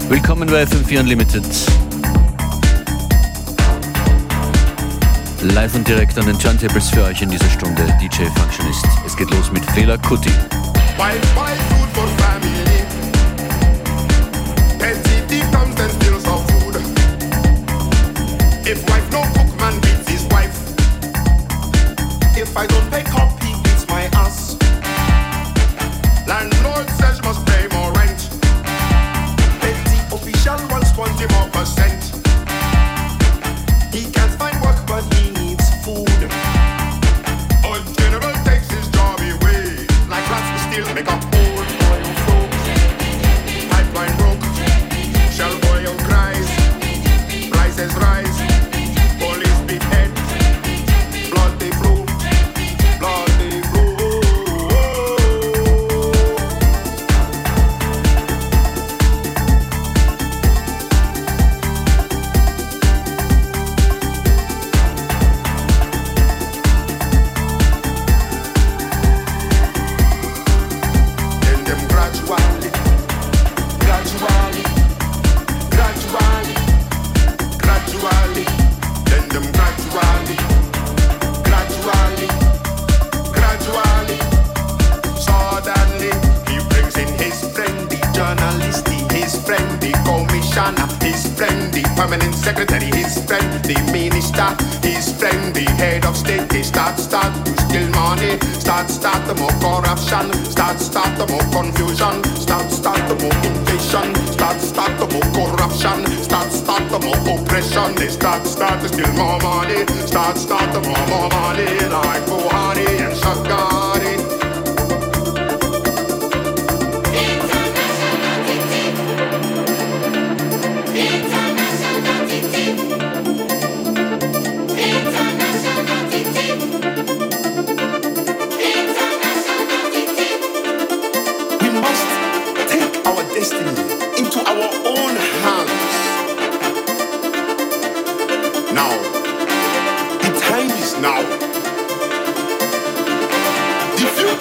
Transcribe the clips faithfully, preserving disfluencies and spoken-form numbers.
Willkommen bei F M vier Unlimited. Live und direkt an den Turntables für euch in dieser Stunde D J Functionist. Es geht los mit Fela Kuti. Wife, wife, food for family. N C T comes and steals our food. If wife no cook, man beats his wife. If I don't pay cop, he beats my ass. Landlord says must pay more rent. Petty official wants twenty more percent. He can't find work but he needs food. A general takes his job away. Like rats we still make up old oil flow. Pipeline broke. Shell oil cries. Prices rise. Police beat head. Blood they flow. Blood they flow. Then them gradually, gradually, gradually, gradually. Then them gradually, gradually, gradually. Suddenly, he brings in his friend, the journalist, the- his friend, the commissioner, his friend, the permanent secretary, his friend, the minister, his friend, the head of state. They start, start to steal money, start, start the more corruption, start, start the more confusion, start, start the more invasion, start, start the more corruption, start, start the more oppression. They start, start to steal more money, start, start the more, more money, like Buhari and Shagari. We must take our destiny into our own hands. Now, the time is now. The future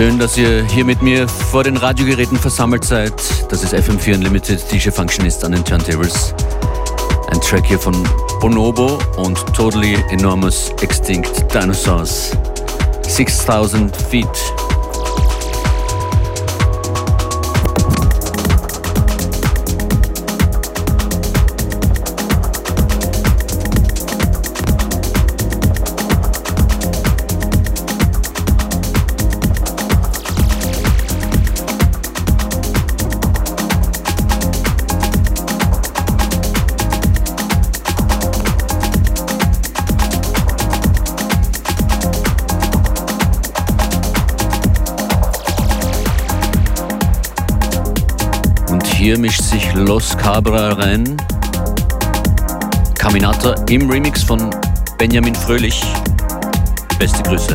Schön, dass ihr hier mit mir vor den Radiogeräten versammelt seid. Das ist F M vier Unlimited, D J Functionist an den Turntables. Ein Track hier von Bonobo und Totally Enormous Extinct Dinosaurs. six thousand feet. Hier mischt sich Los Cabra rein. Caminata im Remix von Benjamin Fröhlich. Beste Grüße.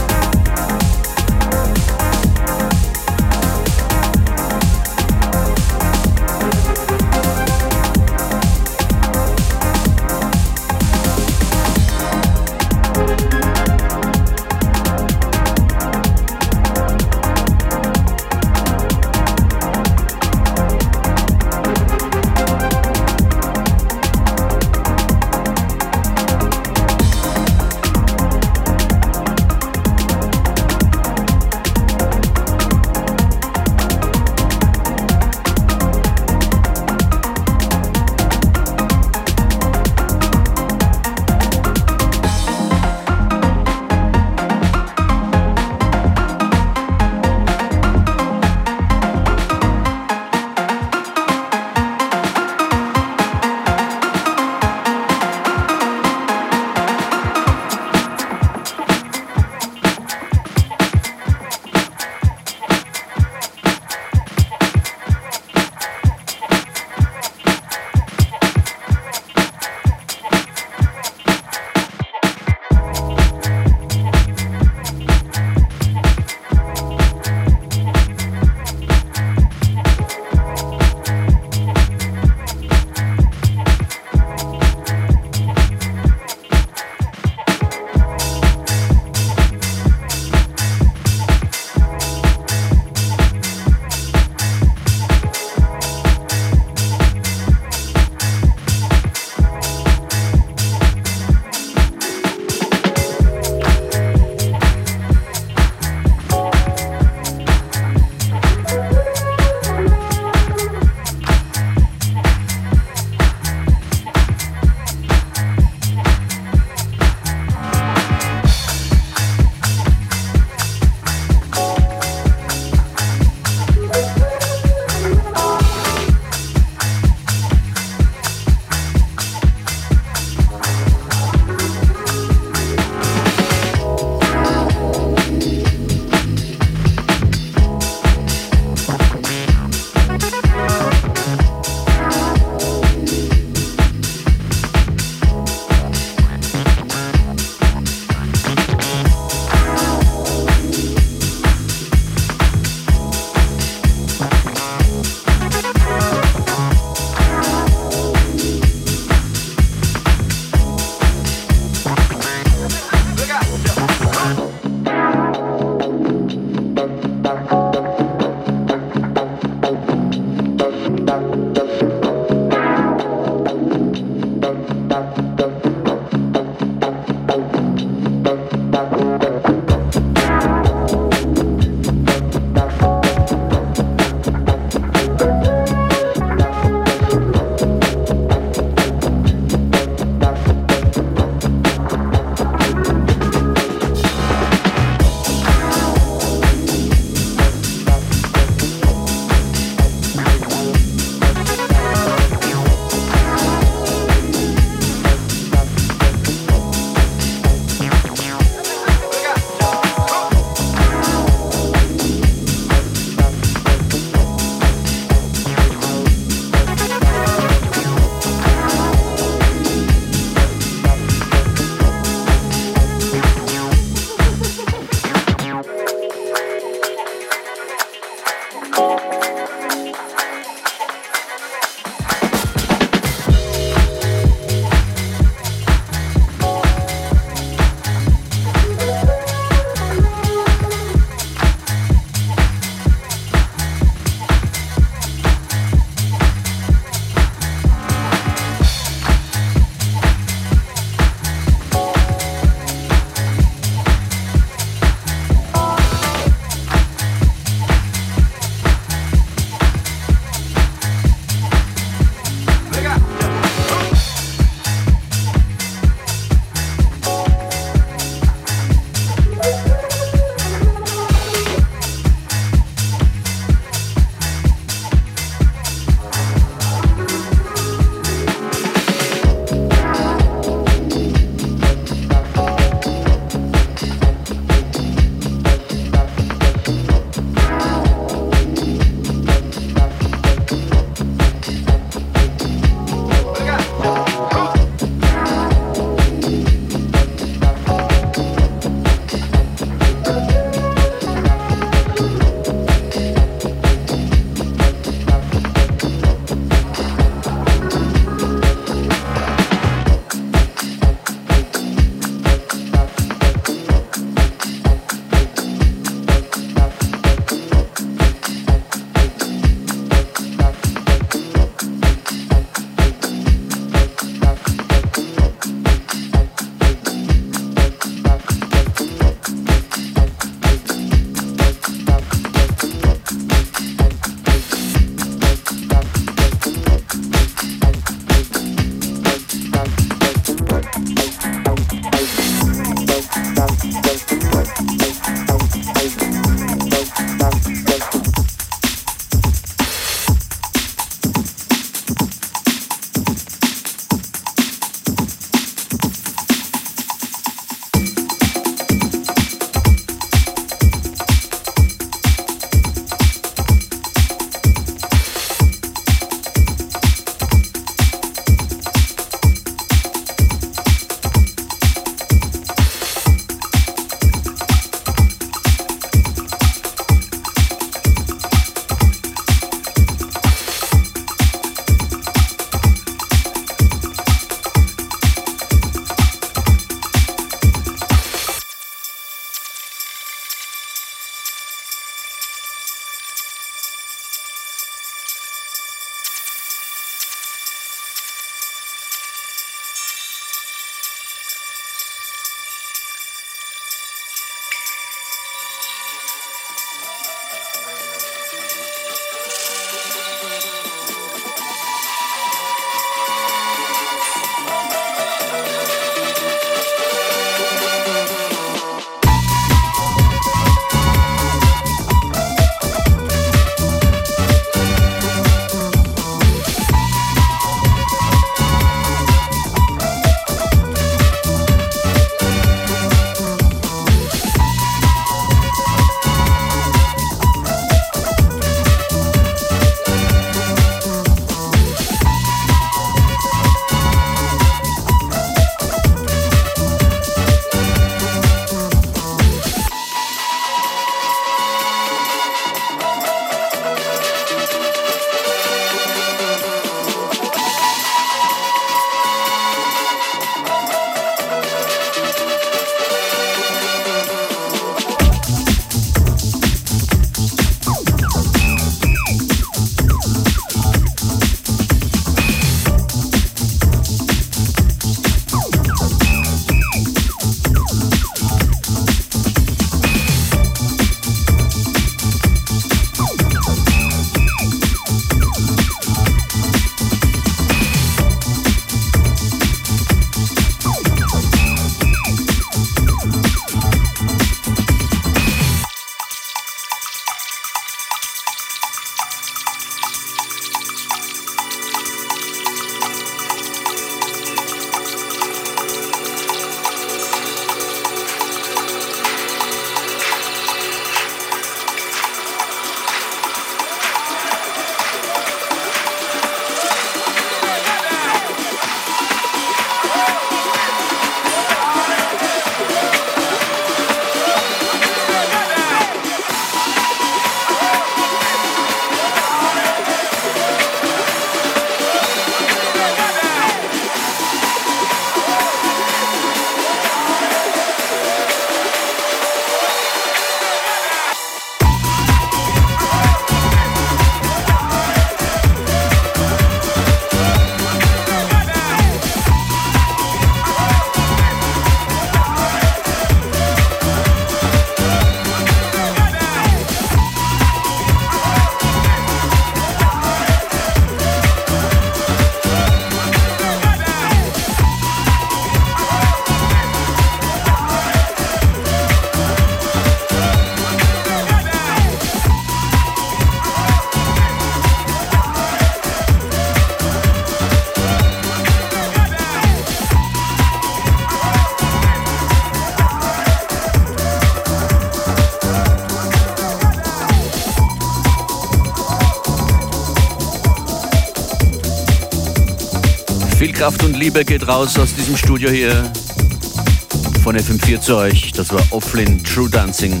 Viel Kraft und Liebe geht raus aus diesem Studio hier von F M vier zu euch. Das war Offlin True Dancing.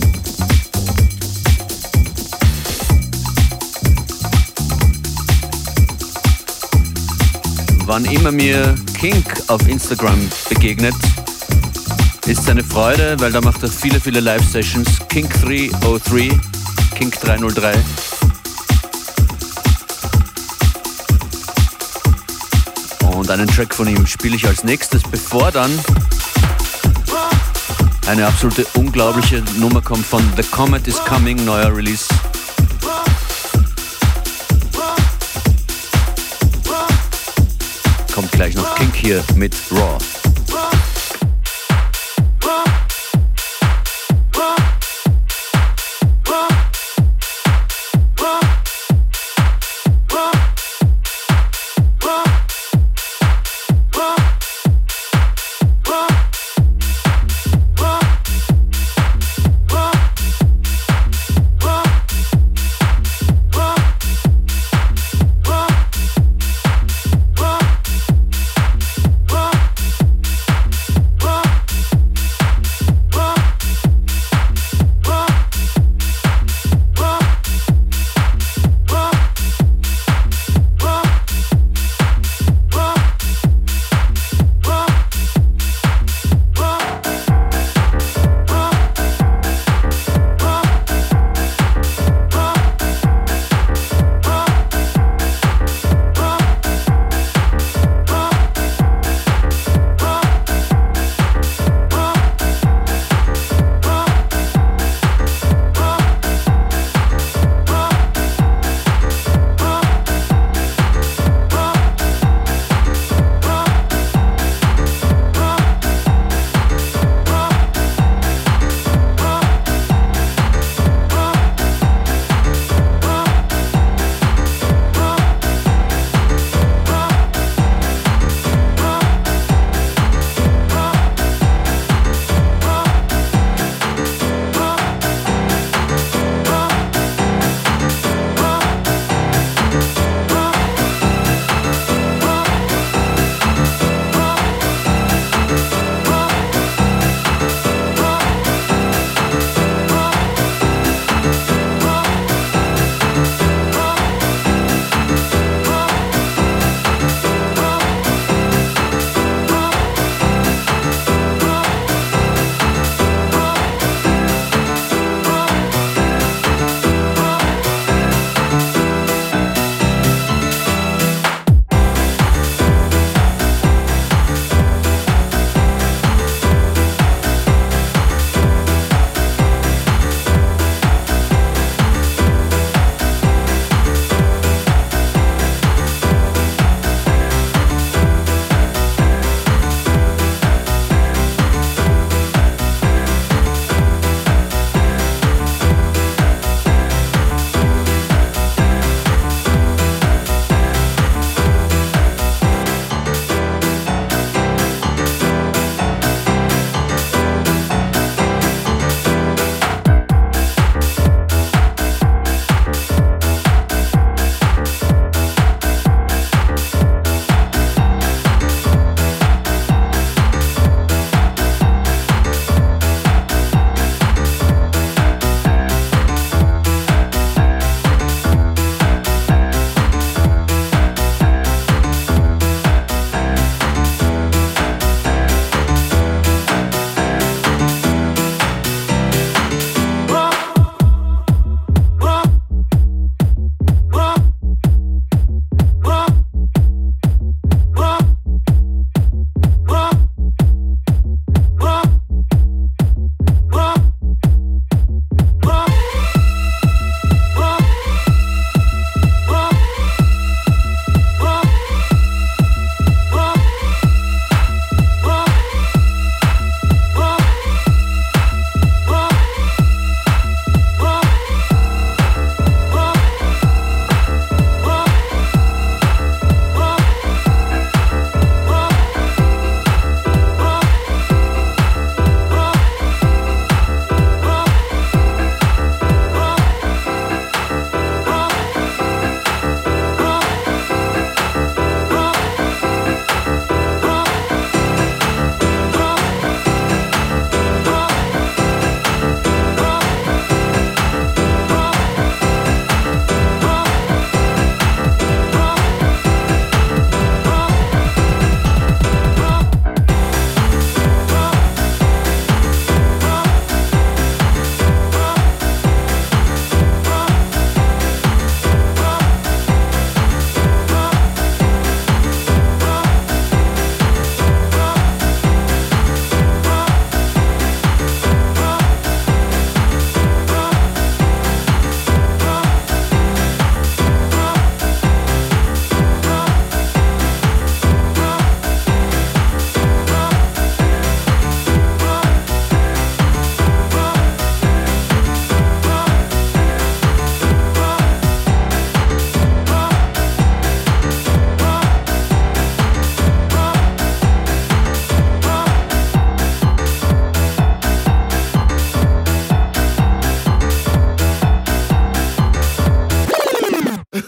Wann immer mir Kink auf Instagram begegnet, ist es eine Freude, weil da macht er viele, viele Live-Sessions. Kink drei null drei, Kink drei null drei. Und einen Track von ihm spiele ich als nächstes, bevor dann eine absolute unglaubliche Nummer kommt von The Comet is Coming, neuer Release. Kommt gleich noch Kink hier mit Raw.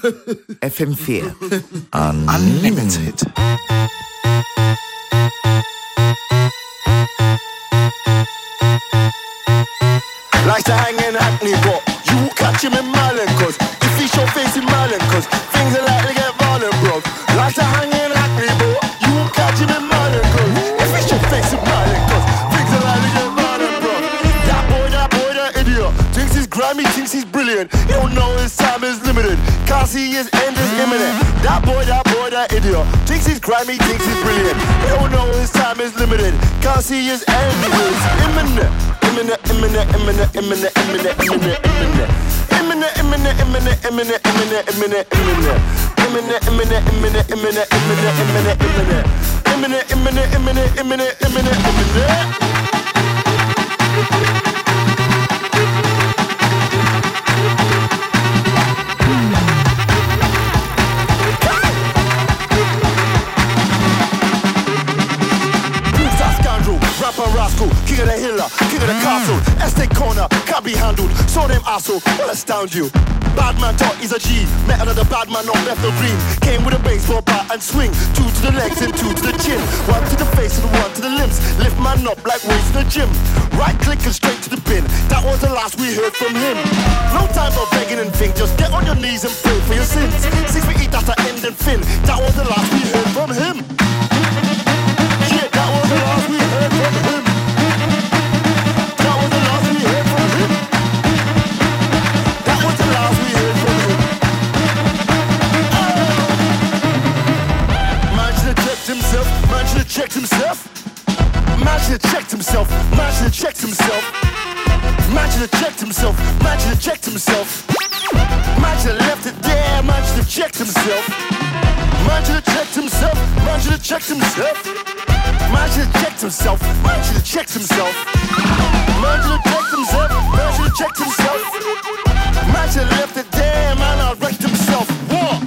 F M vier Unlimited. Like to hang in Hackney, but you won't catch him in Marlin, cause if he show face in Marlin, cause things are likely to get violent, bro. Like to hang in Hackney, but you won't catch him in Marlin, cause if he show face in Marlin, cause things are likely to get violent, bro. That boy, that boy, that idiot thinks he's grimy, thinks he's brilliant. He don't know his time is limited, can't see his end is imminent. That boy, that boy, that idiot thinks he's grimy, thinks he's brilliant. He don't know his time is limited, can't see his end is imminent. Imminent, imminent, imminent, imminent, imminent, imminent, imminent. Imminent, imminent, imminent, imminent, imminent, imminent, imminent. Imminent, imminent, imminent, imminent, imminent, imminent, imminent. Imminent, imminent, imminent, imminent, imminent, imminent. Rapper rascal, king of the hiller, king of the castle. Estate corner, can't be handled. Saw them asshole, will astound you. Bad man thought he's a G. Met another bad man on Bethnal Green. Came with a baseball bat and swing. Two to the legs and two to the chin. One to the face and one to the limbs. Lift man up like weights in the gym. Right click and straight to the bin. That was the last we heard from him. No time for begging and think. Just get on your knees and pray for your sins. Six feet eat, that's the end and fin. That was the last we heard from him. Yeah, that was the last we heard from him. That was the last we heard from him. That was the last we heard from him. Oh. Man should have checked himself. Man should have checked himself. Man should have checked himself. Man should have checked himself. Man should have checked himself. Man should have checked himself. Man should have left it there. Man should have checked himself. Man should have checked himself. Man should have checked himself. Man should have checked himself. Man should have checked himself. Man should have checked himself. Man should have checked himself. Man should have left it there. Man, I wrecked himself. What?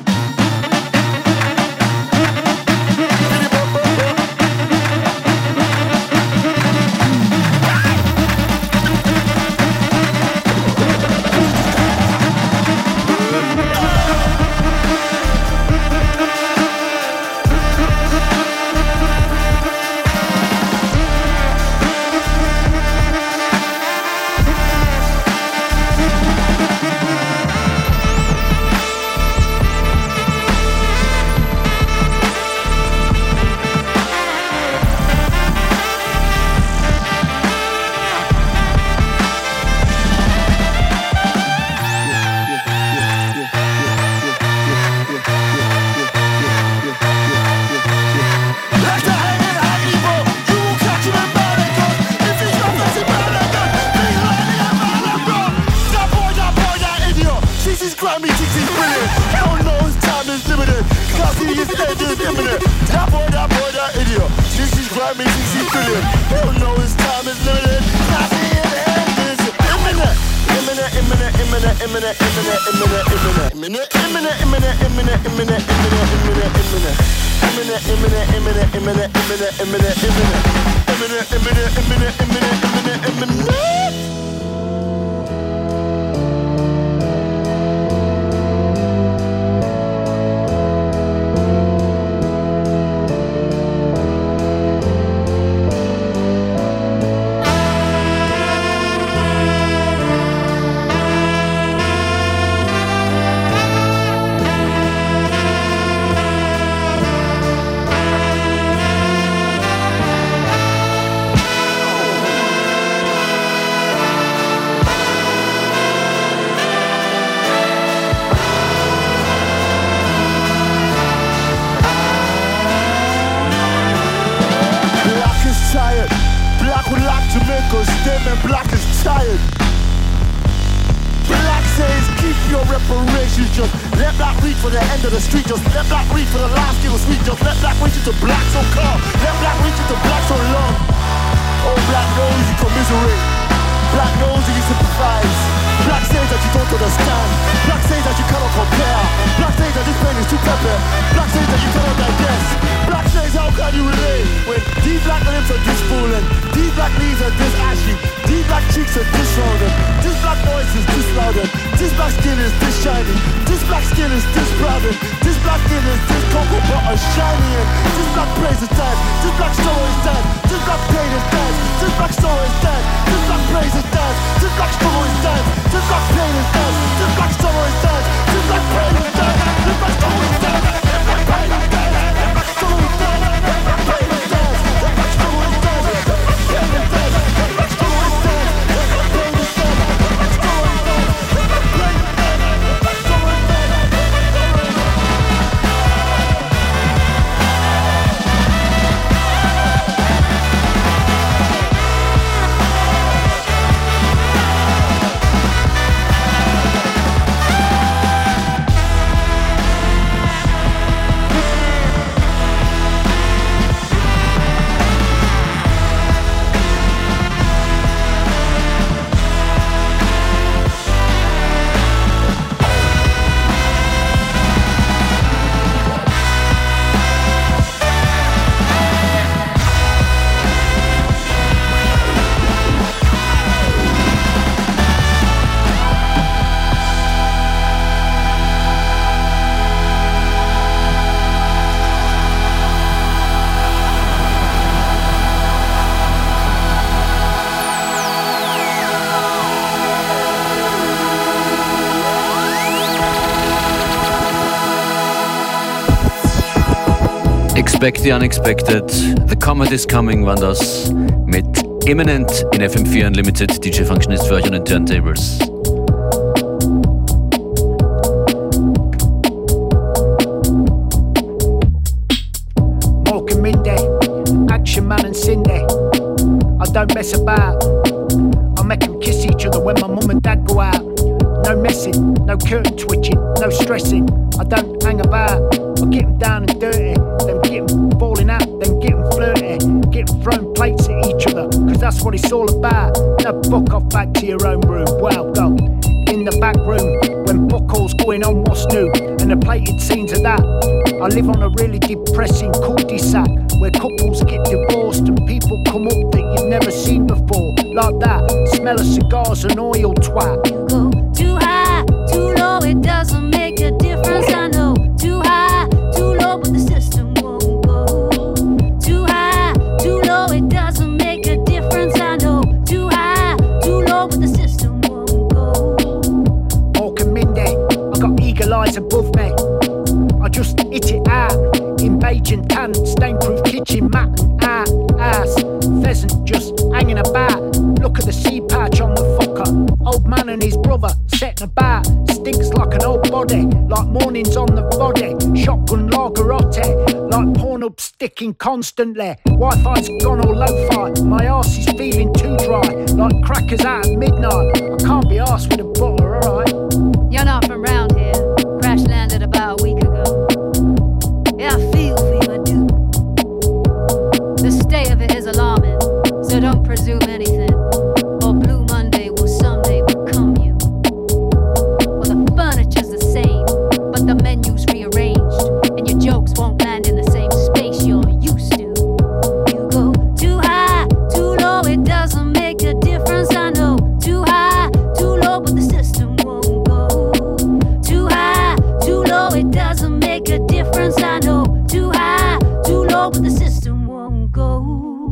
These black leaves are this ashy. These black cheeks are this rounded. This black voice is this louder. This black skin is this shiny. This black skin is this proud. This black skin is this cocoa butter shiny. And this black praise is dead. This black soul is dead. This black pain is dead. This black soul is dead. This black praise is dead. This black struggle is dead. This black pain is dead. This black sorrow is dead. This black pain is dead. This black struggle is dead. This black pain is dead. This black struggle is dead. This black pain is dead. This black struggle is dead. This black pain is dead. This black struggle is dead. This black pain is dead. This black struggle is dead. This black pain is dead. This black struggle is dead. Expect the Unexpected, The Comet is Coming waren das mit Imminent in F M vier Unlimited. D J Functionist für euch an den Turntables. Morgan Mindy, Action Man and Cindy. I don't mess about. I make them kiss each other when my mum and dad go out. No messing, no curtain twitching, no stressing. I don't hang about. I get them down and dirty, then get them falling out, then get them flirty, get them throwing plates at each other, cause that's what it's all about. Now fuck off back to your own room. Well, go in the back room when buckles going on what's new and the plated scenes of that. I live on a really depressing cul-de-sac where couples get divorced and people come up that you've never seen before, like that. Smell of cigars and oil twat. You go too high, too low, it doesn't make a difference, I know. Too high, too low, but the system won't go. Too high, too low, it doesn't make a difference, I know. Too high, too low, but the system won't go. Mork and Mindy, I got eagle eyes above me. I just hit it out in beige and tan, stain-proof kitchen mat and out, ass. Pheasant just hanging about. Look at the sea patch on the fucker. Old man and his brother setting about. Stinks like an old body, like mornings on the body. Shotgun lagerotte, like porn up sticking constantly. Wi-Fi's gone all lo-fi. My arse is feeling too dry, like crackers out at midnight. I can't be arsed with a butter, alright? You're not from round here. Crash landed about a week ago. Yeah, I feel for you, I do. The state of it is alarming, so don't presume anything. Or Blue Monday will someday become you. Well, the furniture's the same, but the menu's rearranged, and your jokes won't land in the same space you're used to. You go too high, too low, it doesn't make a difference, I know. Too high, too low, but the system won't go. Too high, too low, it doesn't make a difference, I know. Too high, too low, but the system won't go.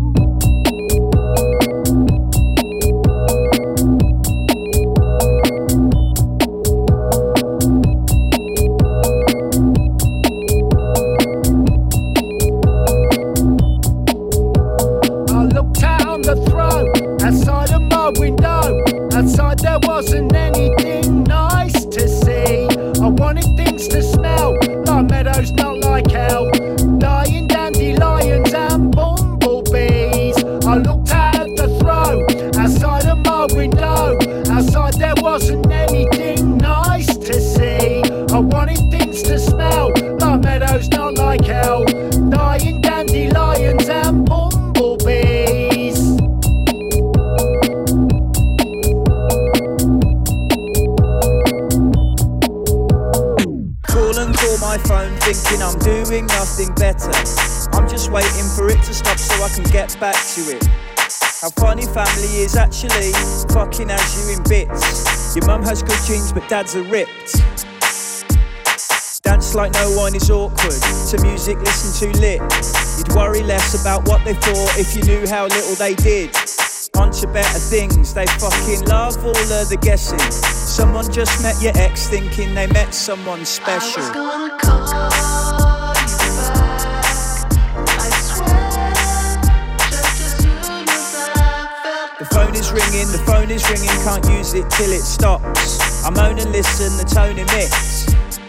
I looked out on the throne, outside of my window. Outside there wasn't anything nice to see. I wanted things to smell like meadows, not like hell. Dying dandelions and bumblebees. I looked out at the throne, outside of my window. Outside there wasn't anything nice to see. I wanted things to smell like meadows, not like hell. Dying dandelions and bumblebees. Call and call my phone thinking I'm doing nothing better. I'm just waiting for it to stop so I can get back to it. How funny family is actually fucking has you in bits. Your mum has good genes but dad's are ripped. Dance like no one is awkward. To music listen to lit. You'd worry less about what they thought if you knew how little they did. On to better things, they fucking love all of the guessing. Someone just met your ex thinking they met someone special. I was gonna call you back, I swear, just as soon as I felt. The phone is ringing, the phone is ringing, can't use it till it stops. I moan and listen, the tone emits.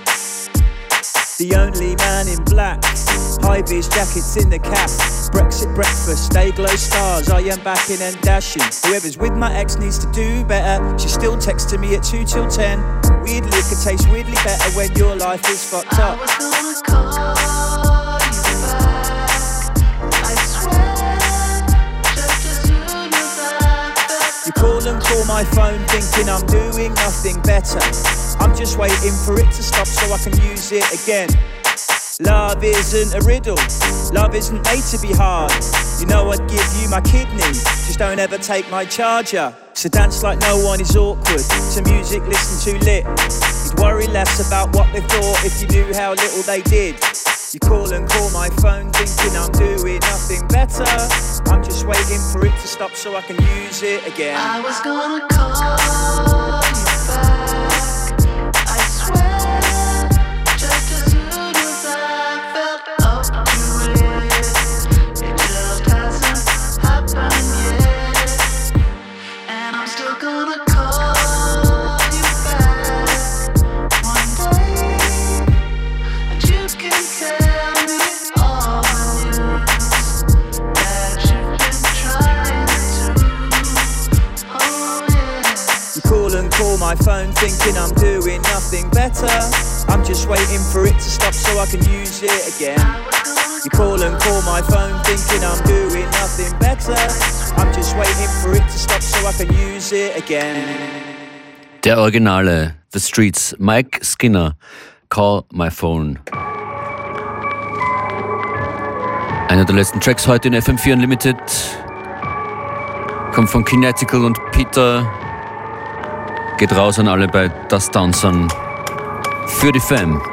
The only man in black, high-vis jackets in the cap. Brexit breakfast, day glow stars, I am backing and dashing. Whoever's with my ex needs to do better. She still texting me at two till ten. Weirdly, it could taste weirdly better when your life is fucked up. I was gonna call you back, I swear, just as soon as I felt. You call and call my phone thinking I'm doing nothing better. I'm just waiting for it to stop so I can use it again. Love isn't a riddle, love isn't made to be hard. You know I'd give you my kidney, just don't ever take my charger. So dance like no one is awkward, to music listen to lit. You'd worry less about what they thought if you knew how little they did. You call and call my phone thinking I'm doing nothing better. I'm just waiting for it to stop so I can use it again. I was gonna call you back, I swear, just as soon as I felt up to it. It just hasn't happened yet, and I'm still gonna call you back one day, and you can tell me all the news that you've been trying to. Oh yeah. You call and call my phone thinking I'm doing nothing better. I'm just waiting for it to stop so I can use it again. You call and call my phone thinking I'm doing nothing better. I'm just waiting for it to stop so I can use it again. Der Originale, The Streets, Mike Skinner, Call My Phone. Einer der letzten Tracks heute in F M vier Unlimited kommt von Kinetical und Peter. Geht raus an alle bei Das Downson. Für die Fam.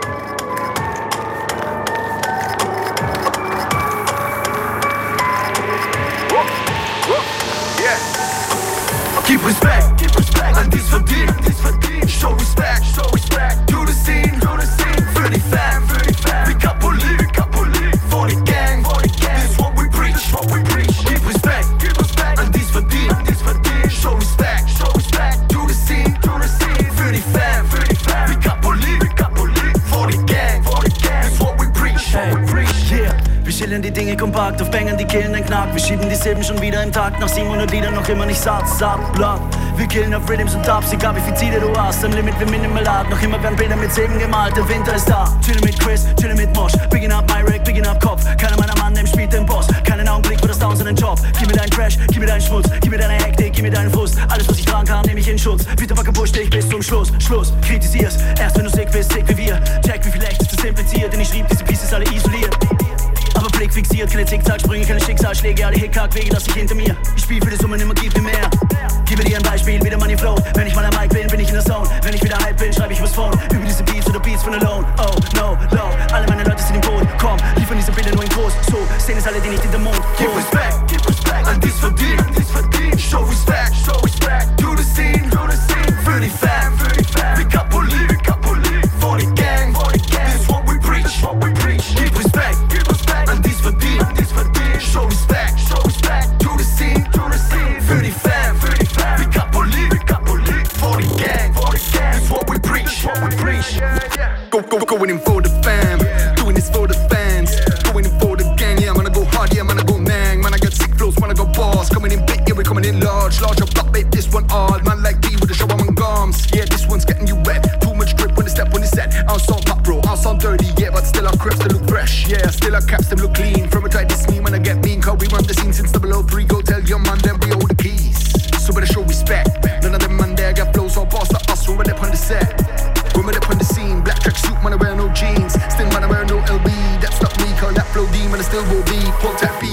Keep respect, keep respect, and this verdient, this verdient. Show respect, show respect, to the scene, to the scene. Für die Fam, für die Fam. Pick up police, pick up police. For the gang, for the gang. This is what we preach, this is what we preach. Keep respect, keep respect, and this verdient, this verdient. Show respect, show respect, to the scene, to the scene. Für die Fam, für die Fam. Pick up police, pick up police. For the gang, for the gang. This is what we preach, hey, what we preach. Yeah. Wir schildern die Dinge kompakt, auf Bängern, die killen den Knack. Wir schieben die Silben schon wieder im Takt, nach siebenhundert Liedern noch immer nicht satt, satt, blatt. Wir killen auf Rhythms und Dubs, egal wie viel Ziele du hast. Am Limit wie Minimalat, noch immer werden Bilder mit Silben gemalt. Der Winter ist da, chillen mit Chris, chillen mit Mosh. Picking up my Rack, picking up Kopf. Keiner meiner Mann, dem spielt den Boss. Keinen Augenblick für das Down, seinen Job. Gib mir deinen Crash, gib mir deinen Schmutz. Gib mir deine Hektik, gib mir deinen Frust. Alles, was ich tragen kann, nehme ich in Schutz. Peter Wacker push dich bis zum Schluss, Schluss. Kritisier's, erst wenn du sick bist, sick wie wir. Check, wie viel echt ist das impliziert, denn ich schrieb diese Pieces alle isoliert. Aber Blick fixiert, keine Zickzacksprünge, keine Schicksalsschläge, alle Hickhack-Wege lass ich hinter mir. Ich spiel für die Summe, nimmer gib mir mehr. Gebe dir ein Beispiel, wieder Money Flow. Wenn ich mal am Mic bin, bin ich in der Zone. Wenn ich wieder hype bin, schreibe ich übers Phone. Über diese Beats oder Beats von Alone. Oh, no, low. Alle meine Leute sind im Boot. Komm, liefern diese Bilder nur in groß. So, sehen es alle, die nicht in der Mond. Keep respect, keep respect, and this verdient, this verdient. Show respect, show respect, to the scene, to the scene. Für die Fam, für die Fam. Pick up police, pick up police. For the gang, for the gang. This is what we preach, this is what we preach. Keep respect, keep respect, and this verdient, this verdient. Show respect, show respect, to the scene, to the scene. Für die Fam, für die Fam. Pick up police, pick up police. For the gang, for the gang. This is what we preach, what we preach. Go, go, going in for the fam. Doing this for the fans. Going in for the gang, yeah, I'm gonna go hard, yeah, I'm gonna go nang. Man, I got sick flows, man, I got balls. Coming in big, yeah, we're coming in large. Large up, top, babe, this one all. Man like D with the show, I'm on gums. Yeah, this one's getting you wet. Too much grip when the step, when it's set. I'll sound pop, bro, I'll sound dirty, yeah, but still our crips, they look fresh. Yeah, still our caps, them look clean. From a tight, this me when I get mean. Cause we run the scene since double oh three. Go tell your man, then we hold the keys. So better show respect. None of them man there got flows or boss like us. When we're up on the set, when we're up on the scene. Black track suit, man, I wear no jeans. Still, man, I wear no L B. That's not me, call that flow D, man, I still go B. Hold that B, hold that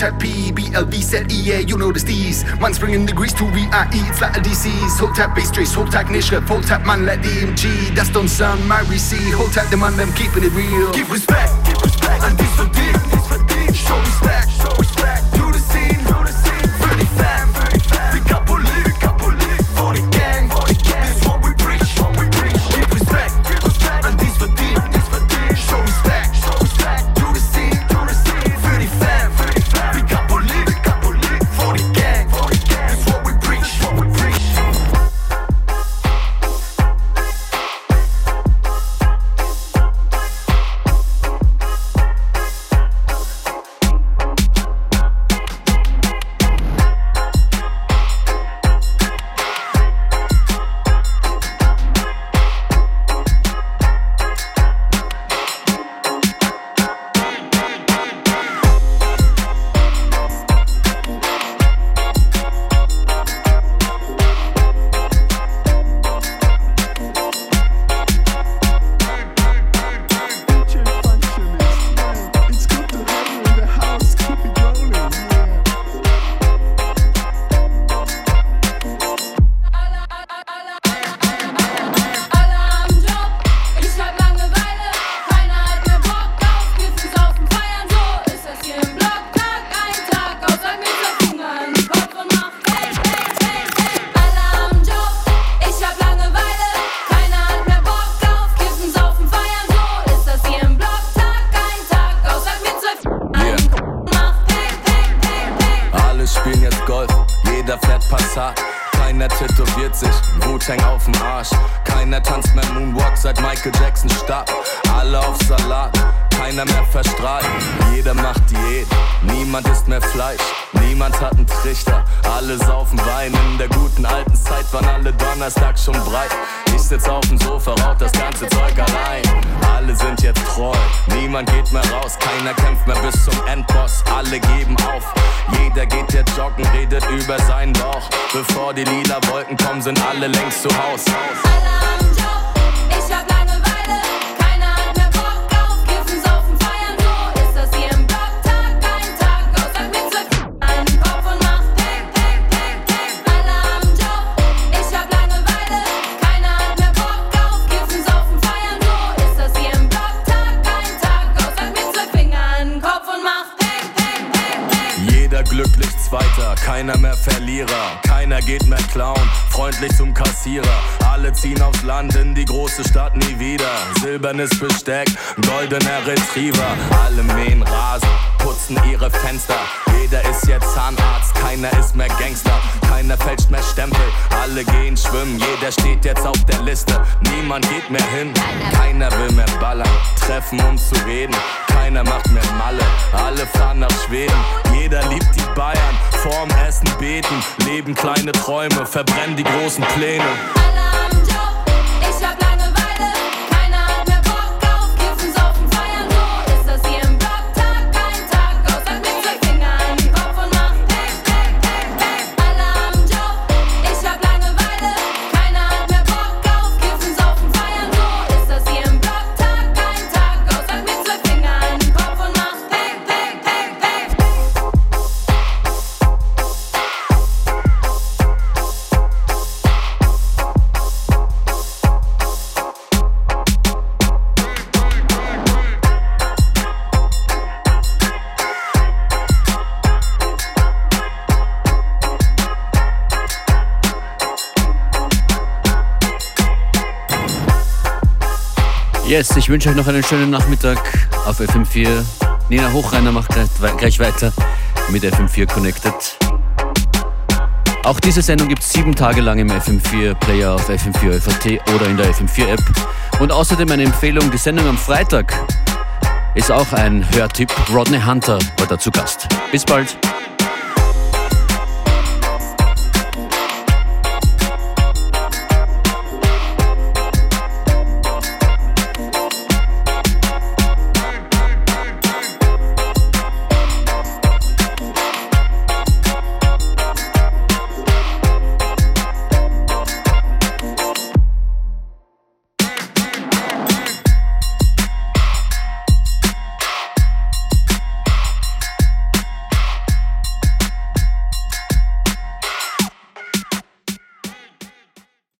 Hotep P, B L V, Z E, yeah, you know the steez. Man's bringing degrees to V I E, it's like a D C's. Hotep bass trace, Hotep Nischke, Hotep man, let D M G. Das don't sound my receipt. Hotep the man, them keeping it real. Give respect, give respect, and this for deep, this for deep. Show respect, show respect, to the scene, to the scene. Für die Fam, für die Fam. Wir Kapolit, wir Kapolit, for the gang, for the gang. This what we preach, what we preach. Give respect, give respect, and this for deep, this for deep. Show respect, show respect, to the scene, to the scene. Für die Fam, für die Fam. Wir Kapolit, wir Kapolit, for the gang, for the gang. This what we preach, what we preach. Sind alle längst zu Haus. Alle am Job, ich hab Langeweile. Keiner hat mehr Bock auf Kiffen, Saufen, Feiern. So ist das hier im Block. Tag ein, Tag aus. Sag mir zwölf an den Kopf und mach Pack, Pack, Pack, Pack. Alle am Job, ich hab Langeweile. Keiner hat mehr Bock auf Kiffen, Saufen, Feiern. So ist das hier im Block. Tag ein, Tag aus. Sag mir zwölf Finger an den Kopf und mach Pack, Pack, Pack, Pack. Jeder glücklich Zweiter, keiner mehr Verlierer. Keiner geht mehr klauen, freundlich zum Kassierer. Alle ziehen aufs Land in die große Stadt nie wieder. Silbernes Besteck, goldener Retriever. Alle mähen Rasen, putzen ihre Fenster. Jeder ist jetzt Zahnarzt, keiner ist mehr Gangster. Keiner fälscht mehr Stempel, alle gehen schwimmen. Jeder steht jetzt auf der Liste, niemand geht mehr hin. Keiner will mehr ballern, treffen um zu reden. Keiner macht mehr Malle, alle fahren nach Schweden. Jeder liebt die Bayern, vorm Essen beten. Leben kleine Träume, verbrennen die großen Pläne. Alle am Job, ich hab Langeweile. Keiner hat mehr Bock auf Kiffen, Saufen, Feiern. So ist das hier im Block. Tag ein, Tag aus. Sag mir zwei Finger an den Kopf und mach Pack, Pack, Pack, Pack. Alle am Job, ich hab Langeweile. Keiner hat mehr Bock auf Kiffen, Saufen, Feiern. So ist das hier im Block. Tag ein, Tag aus. Sag mir zwei Finger an den Kopf und mach Pack, Pack, Pack, Pack. Yes, ich wünsche euch noch einen schönen Nachmittag auf F M vier. Nina Hochreiner macht gleich weiter mit F M vier Connected. Auch diese Sendung gibt es sieben Tage lang im F M vier Player auf F M vier Ö V T oder in der F M vier App. Und außerdem eine Empfehlung, die Sendung am Freitag ist auch ein Hörtipp. Rodney Hunter war da zu Gast. Bis bald.